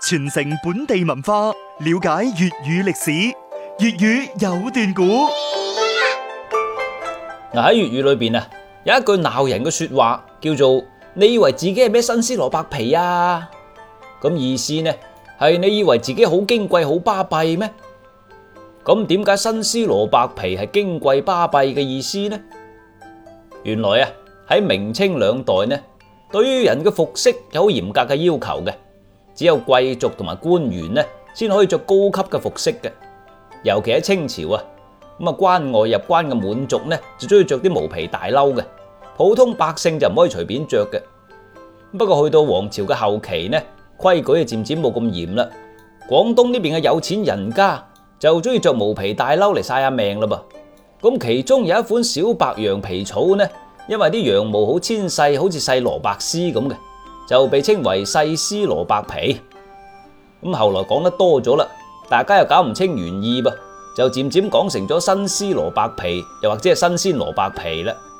傳承本地文化，了解粵語歷史。粵語有段古。 喺粵語裏邊啊，有一句鬧人嘅說話，叫做你以為自己係咩新絲蘿蔔皮啊？咁意思呢係你以為自己好矜貴好巴閉咩？咁點解新絲蘿蔔皮係矜貴巴閉嘅意思呢？原來啊，喺明清兩代呢，對於人嘅服飾有好嚴格嘅要求嘅，只有貴族同埋官員呢先可以着高級嘅服飾嘅。尤其喺清朝啊，關外入關嘅滿族呢就中意着啲毛皮大褸嘅，普通百姓就唔可以隨便着嘅。不過去到皇朝嘅後期呢，規矩就漸漸冇咁嚴啦。廣東呢邊嘅有錢人家就中意着毛皮大褸嚟晒下命啦噃。咁其中有一款小白羊皮草呢，因為啲羊毛好纖細，好似細蘿蔔絲咁嘅，就被稱為細絲蘿蔔皮。咁後來講得多咗啦，大家又搞唔清原意噃，就漸漸講成咗新絲蘿蔔皮，又或者係新鮮蘿蔔皮啦。